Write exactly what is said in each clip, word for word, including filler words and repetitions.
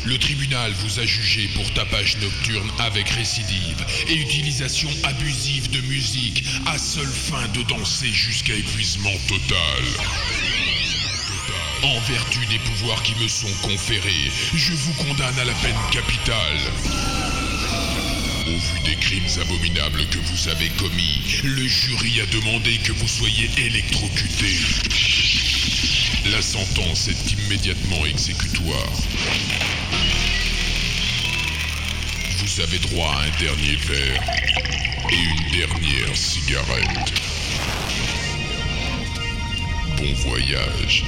Le tribunal vous a jugé pour tapage nocturne avec récidive et utilisation abusive de musique à seule fin de danser jusqu'à épuisement total. En vertu des pouvoirs qui me sont conférés, je vous condamne à la peine capitale. Au vu des crimes abominables que vous avez commis, le jury a demandé que vous soyez électrocuté. La sentence est immédiatement exécutoire. Vous avez droit à un dernier verre et une dernière cigarette. Bon voyage.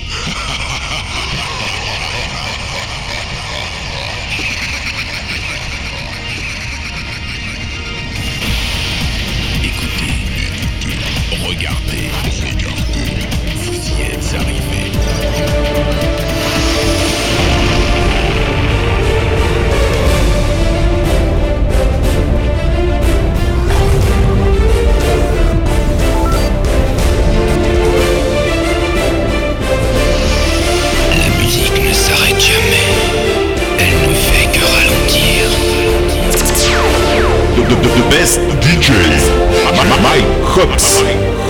Écoutez, regardez, regardez, vous y êtes arrivés. La musique ne s'arrête jamais, elle ne fait que ralentir. The, the, the best D J, Mike Hops.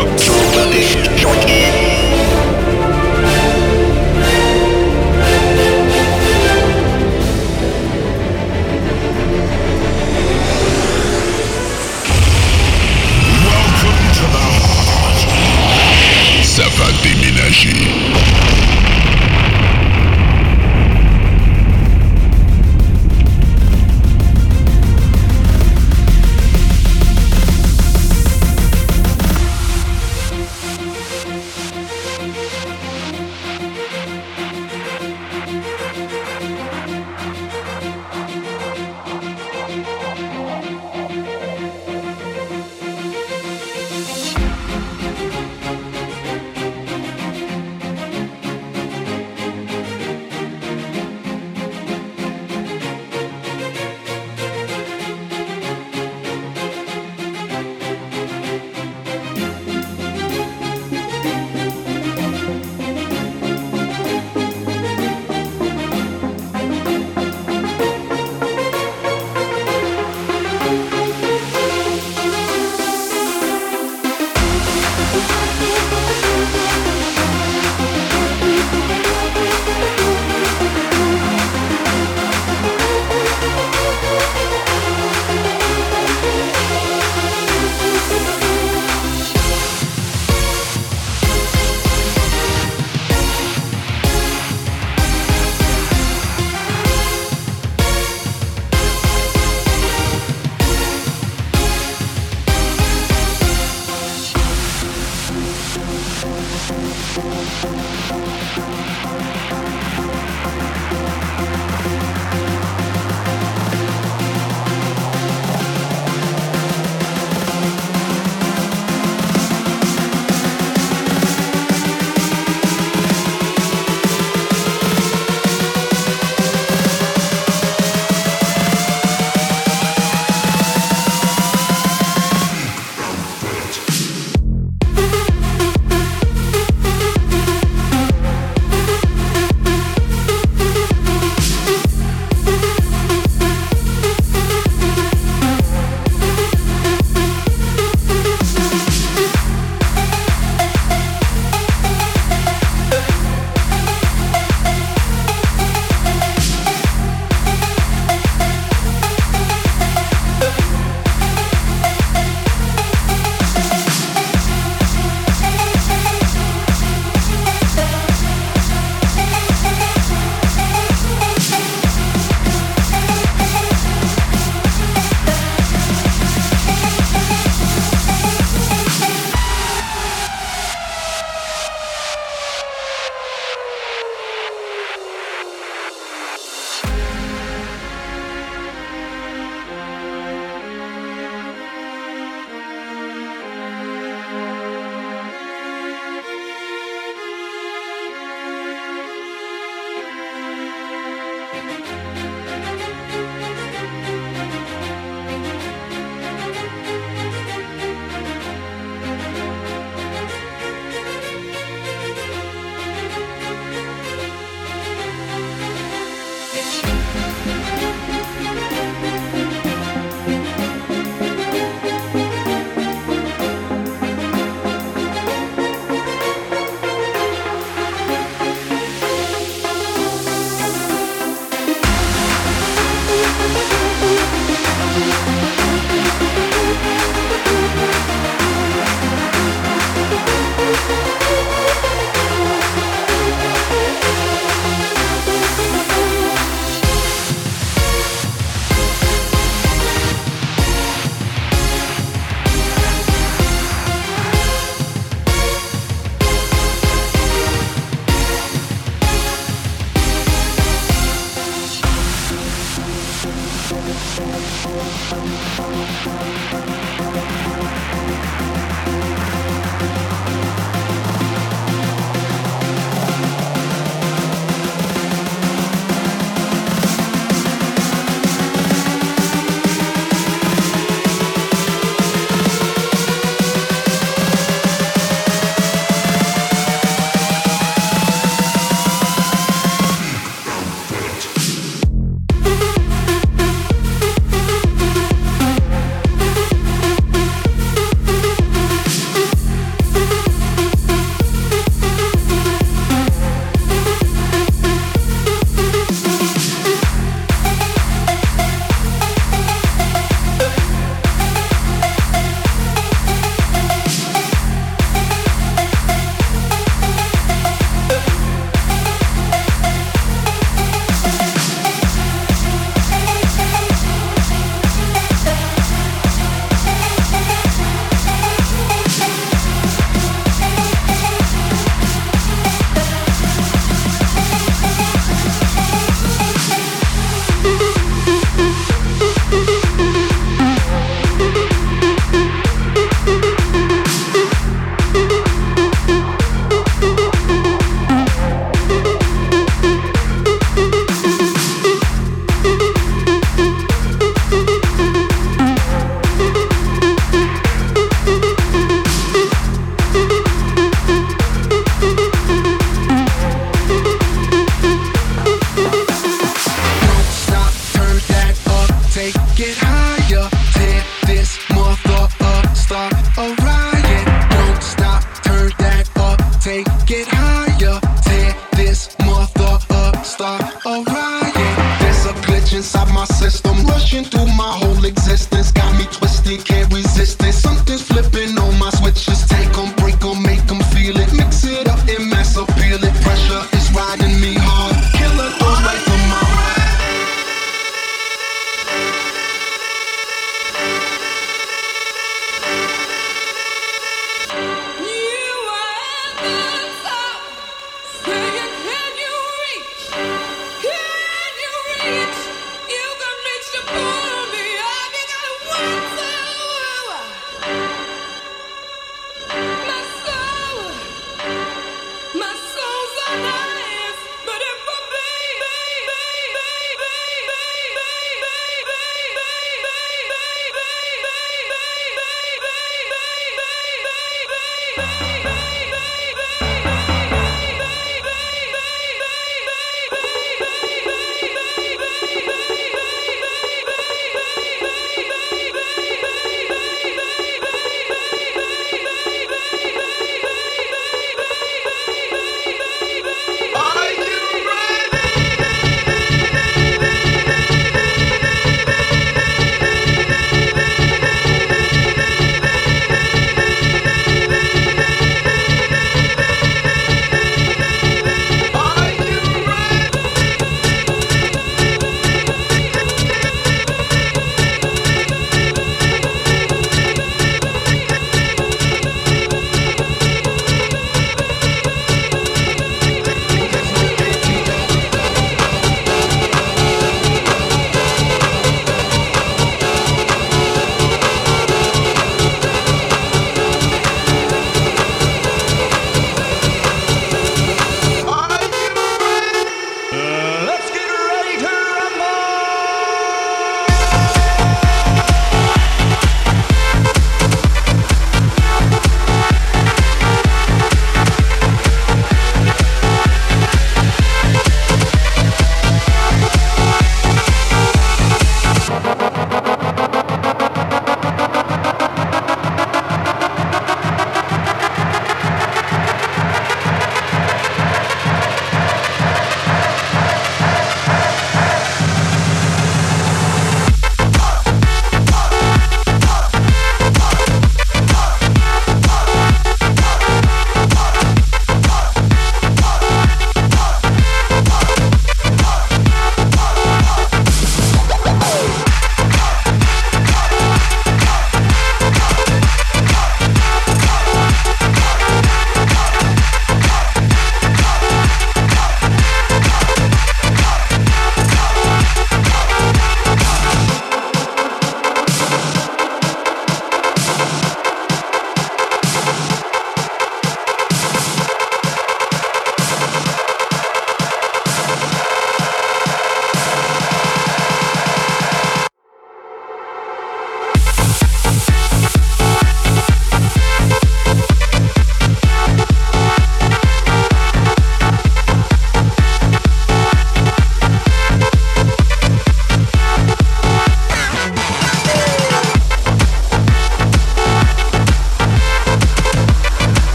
Ça va déménager.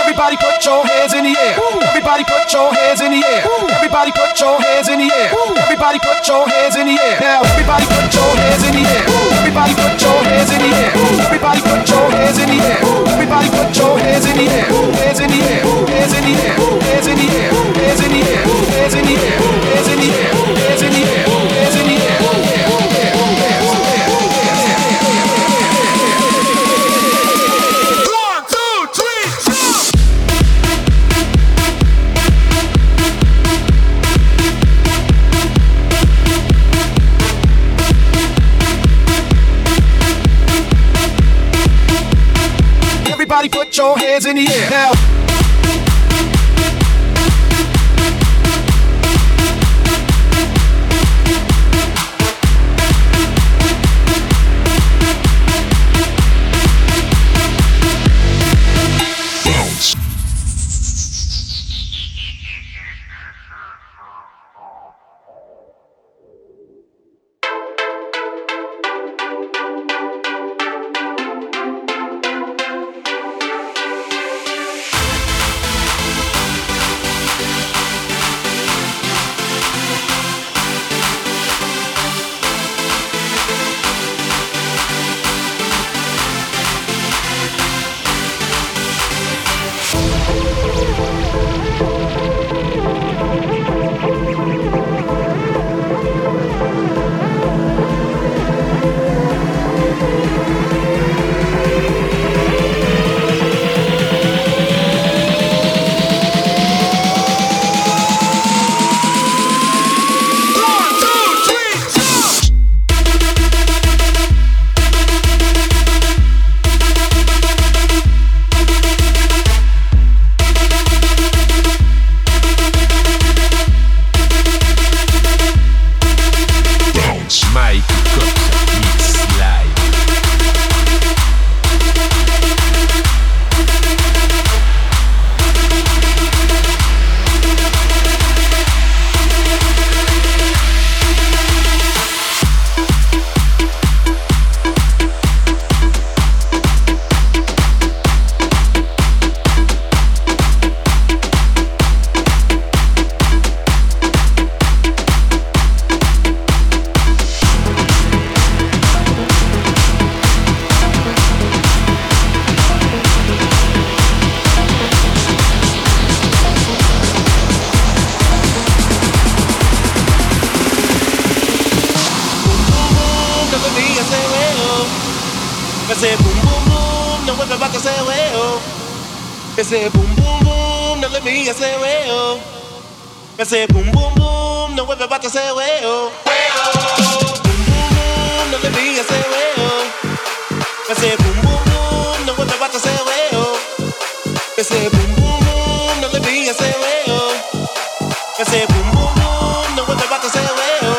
Everybody put your hands in the air. Everybody put your hands in the air. Everybody put your hands in the air. Everybody put your hands in the air. Now everybody put your hands in the air. Everybody put your hands in the air. Everybody put your hands in the air. Everybody put your hands in the air. Hands in the air. Hands in the air. Hands in the air. Hands in the air. Hands in the air. Hands in the air. Hands in the air. Hands in the air. Everybody put your hands in the air now. Ese boom boom boom, no vuelve back ese huevo. Ese boom boom boom, no le vi ese huevo. Ese boom boom boom, no vuelve back ese huevo. Boom boom boom, no le vi ese huevo. Ese boom boom boom, no vuelve back ese huevo. Ese boom boom boom, no le vi ese huevo. Ese boom boom boom, no vuelve back ese huevo.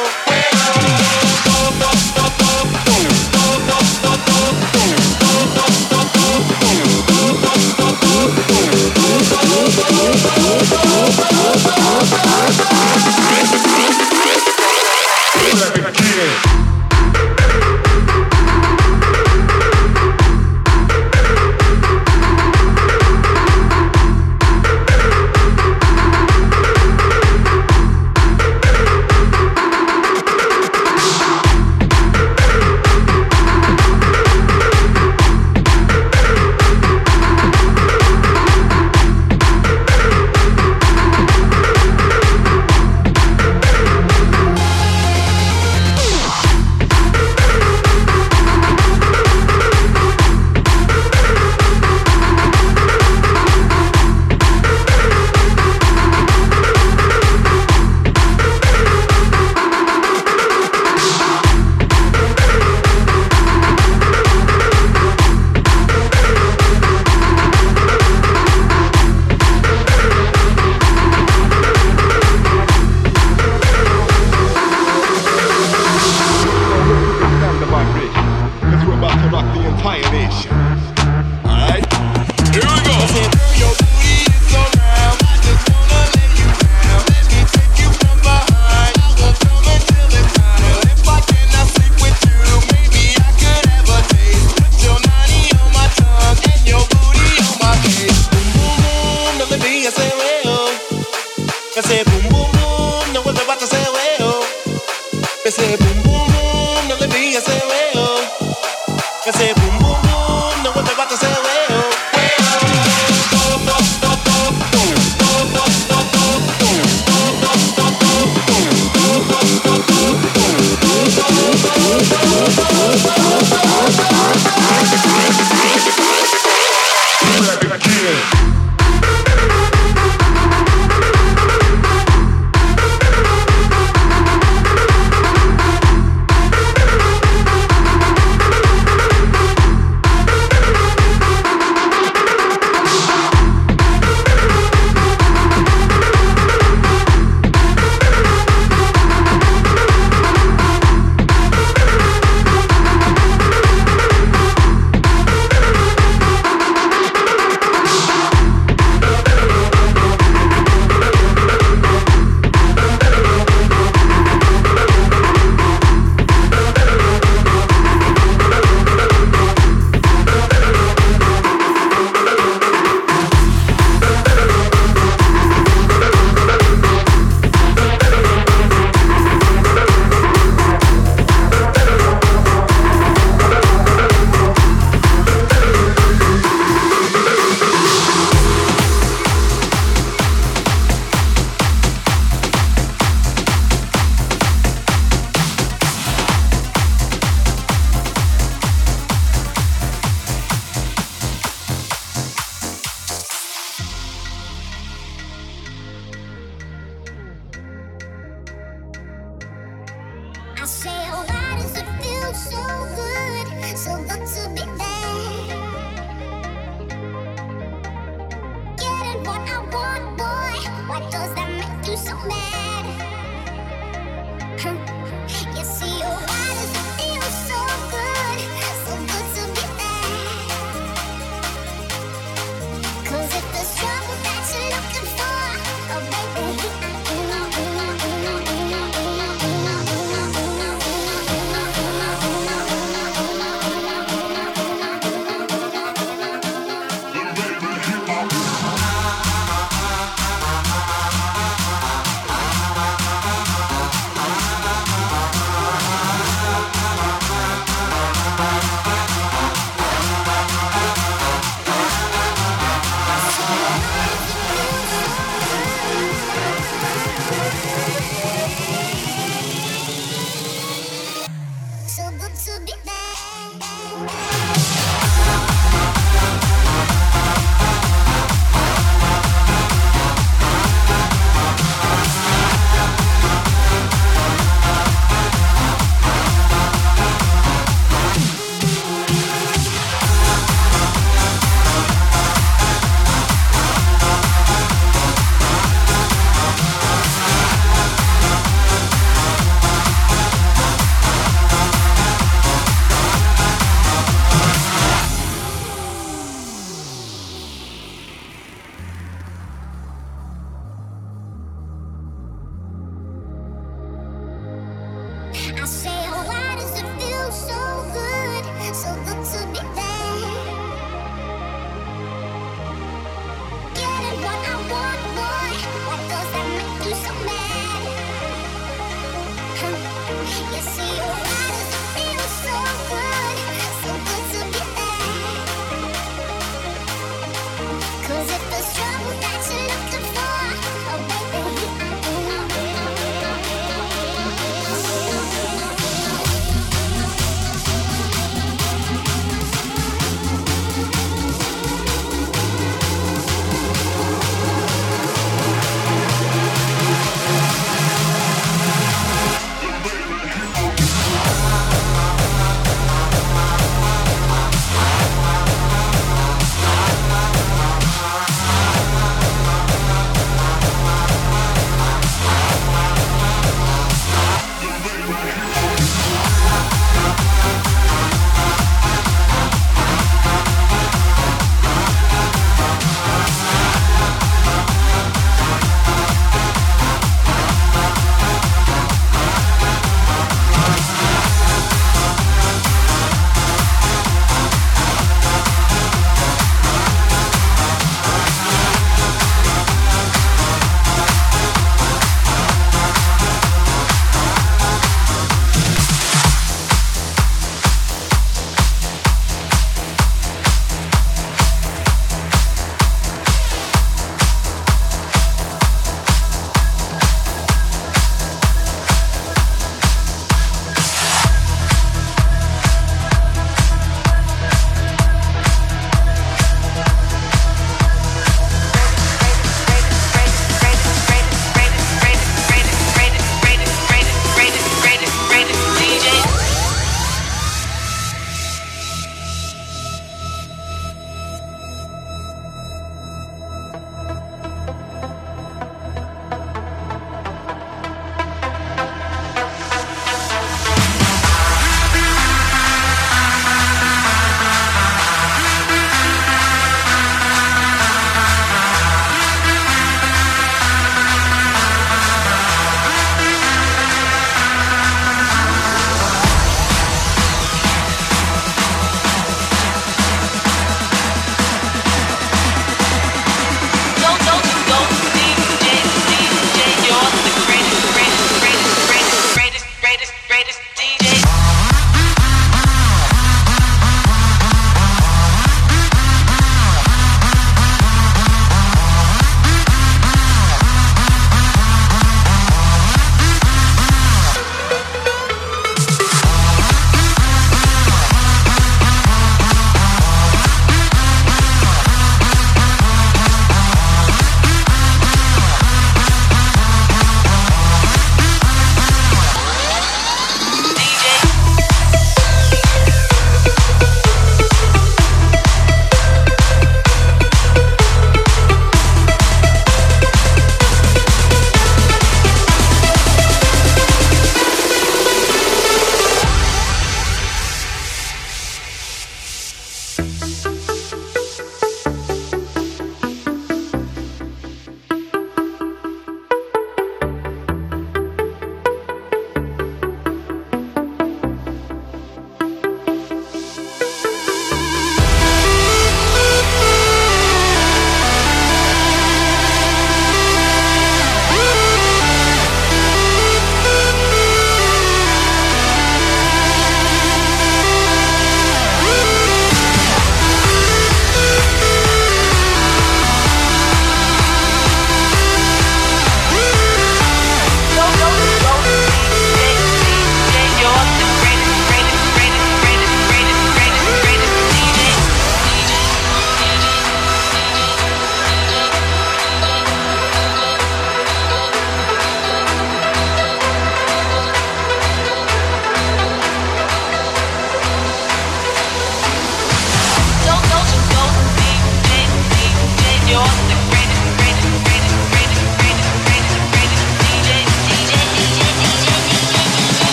I say, well, I say, boom, boom, boom, now everybody say, well, I say, boom, boom, boom, now let me, I say, well, I say, boom, boom, boom, now everybody say, well.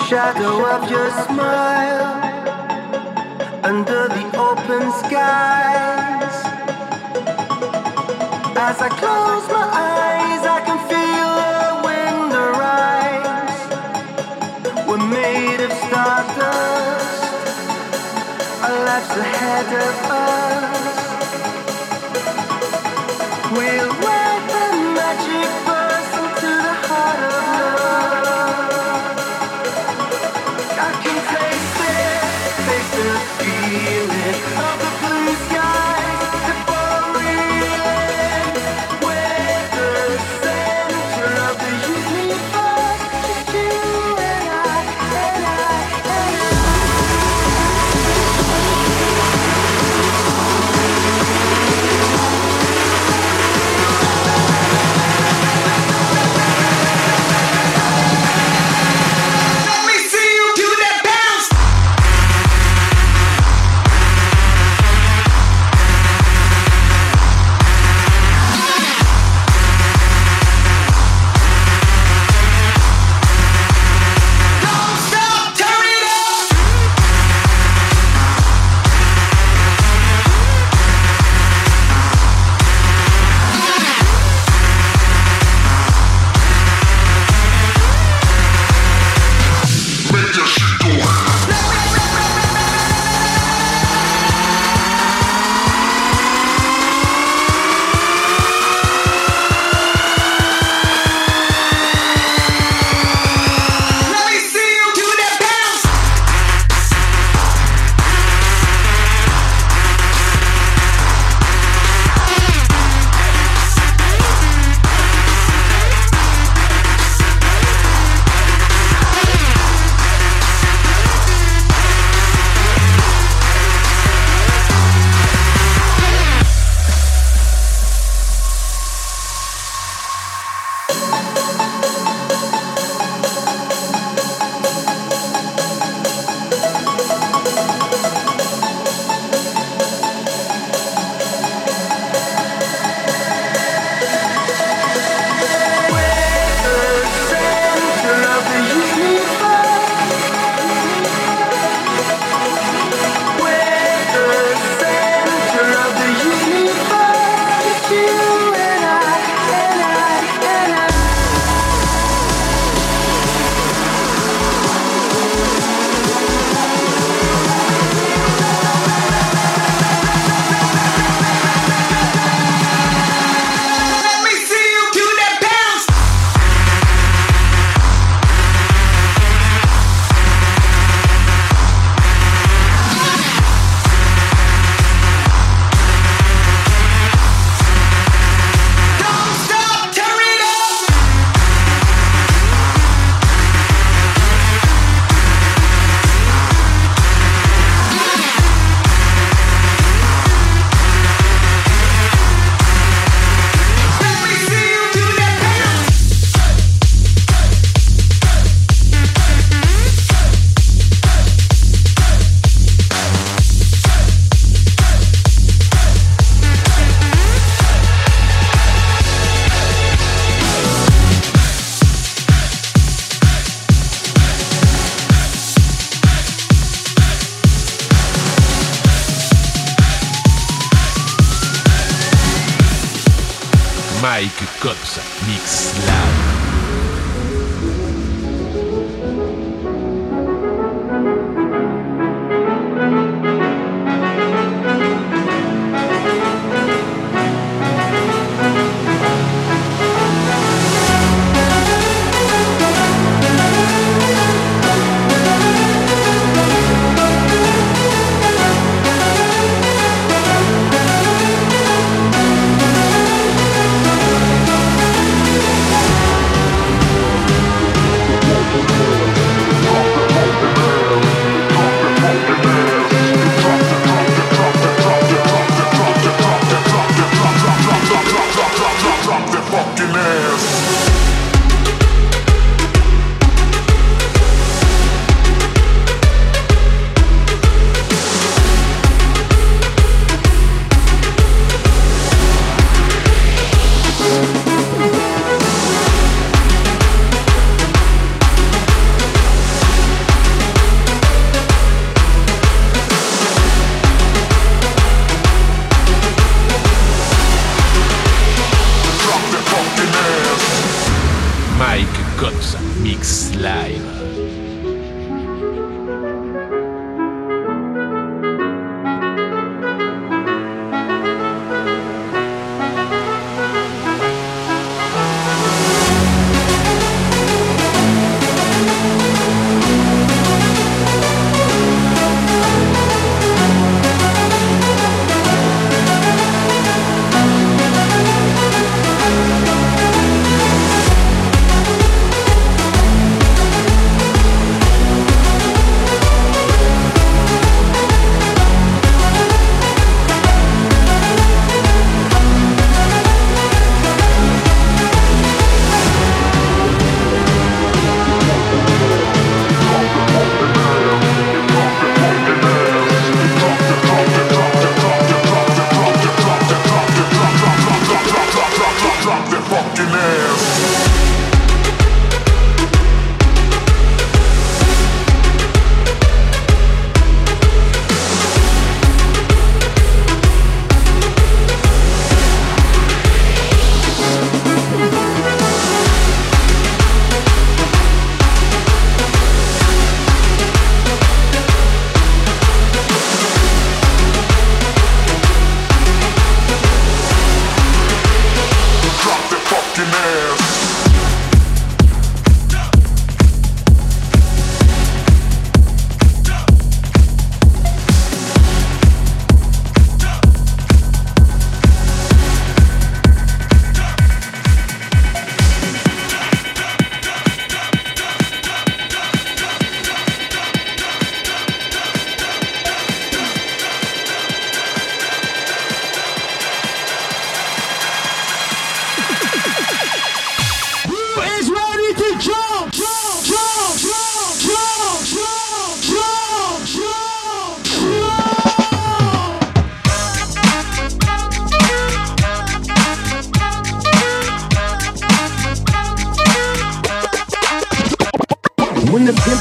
shadow of your smile under the open skies. As I close my eyes, I can feel the wind arise. We're made of stardust, our lives ahead of us. We'll ride the magic bus into the heart of love. I can taste it, taste the feeling of the blue skies, the boreal. We're the center of the universe, just you and I, and I, and I. Mike Cops Mix Live.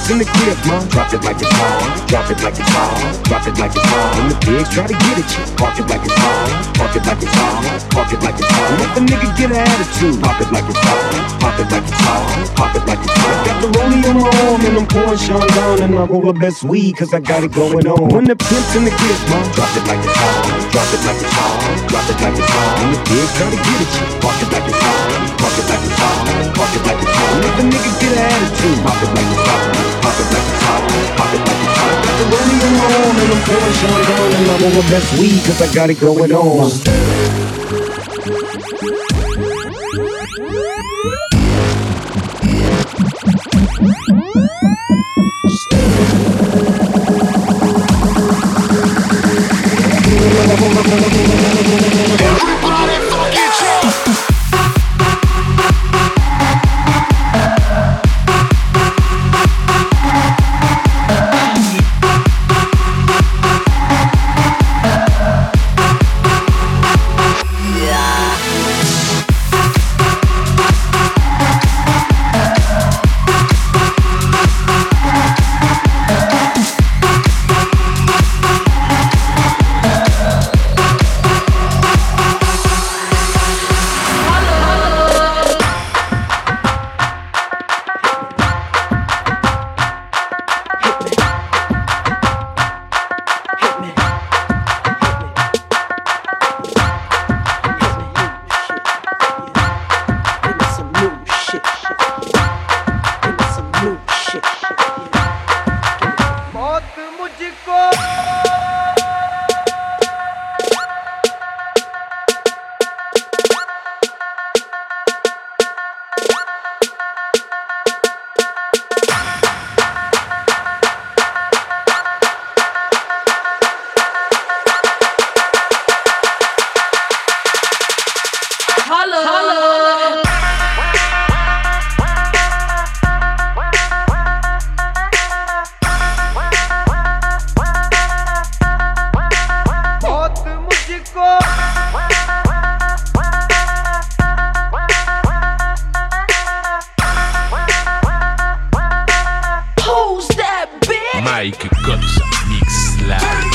pimp's in the crib, ma. Drop it like it's hot, drop it like it's hot, drop it like it's hot. When the pigs try to get at you, park it like it's hot, park it like it's hot, park it like it's hot. Let the nigga get an attitude, pop it like it's hot, pop it like it's hot, pop it like it's hot. Got the rollie on my arm and I'm pouring Sean down and I roll the best weed cause I got it going on. When the pimp's in the crib, ma. Drop it like it's hot, drop it like it's hot, drop it like it's hot. When the pigs try to get at you, park it like it's hot, park it like it's hot, park it like it's hot. Let the nigga get an attitude, pop it like it's hot, pop it like it's hot, pop it like it's hot. Got the rollie on my arm and I'm pouring Sean down and I roll the best weed cause I got it going on. Everybody fucking jump! Mike Cops Mix Live.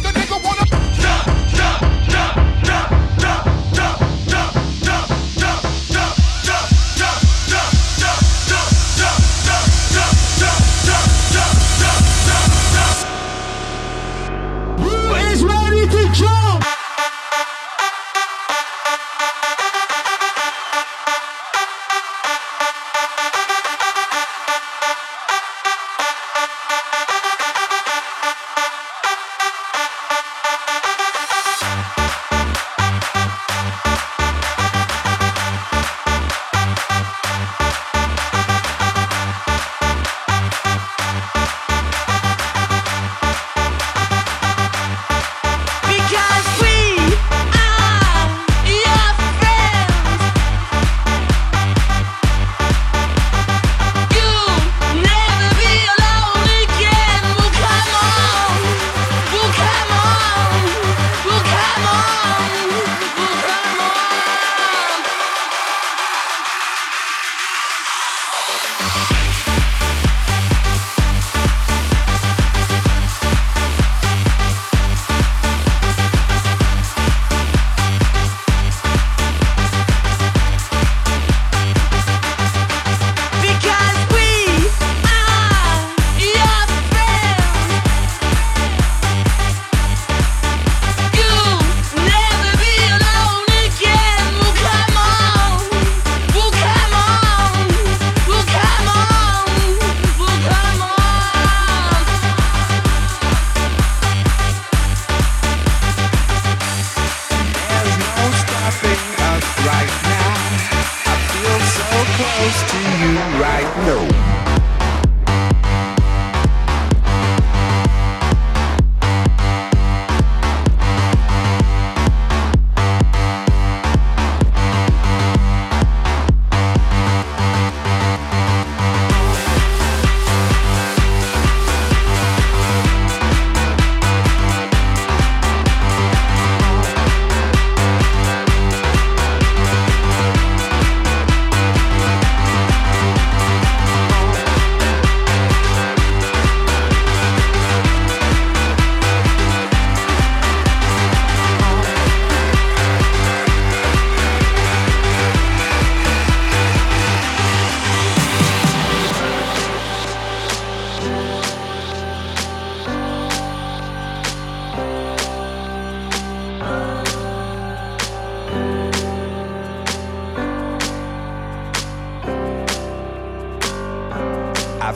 Jump, jump, jump, jump, jump, jump, jump, jump.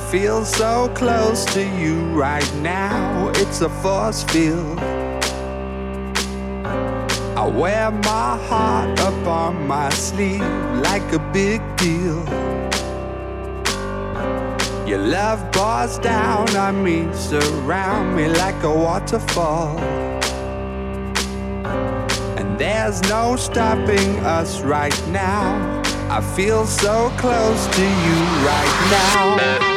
feel so close to you right now. It's a force field. I wear my heart up on my sleeve like a big deal. Your love pours down on me, surround me like a waterfall. And there's no stopping us right now. I feel so close to you right now.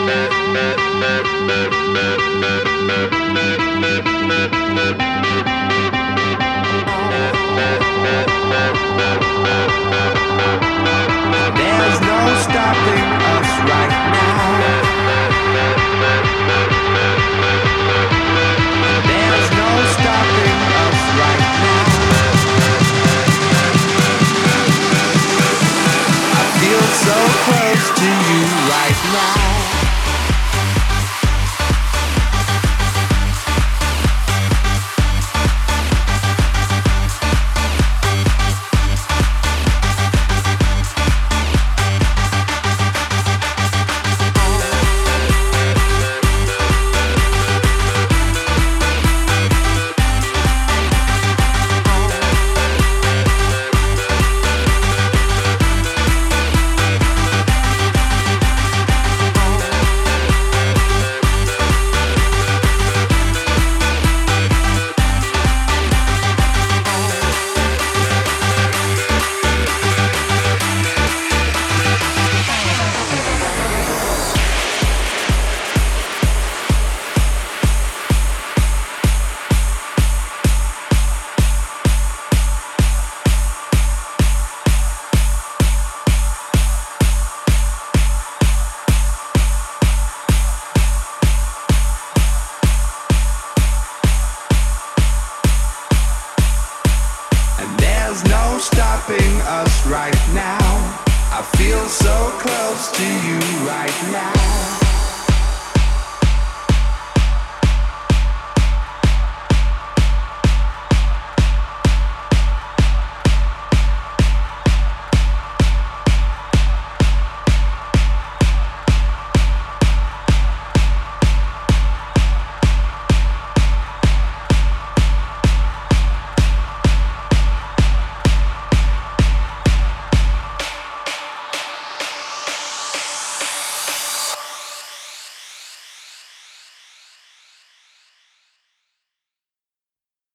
There's no stopping us right now. There's no stopping us right now. I feel so close to you right now. Stopping us right now. I feel so close to you right now.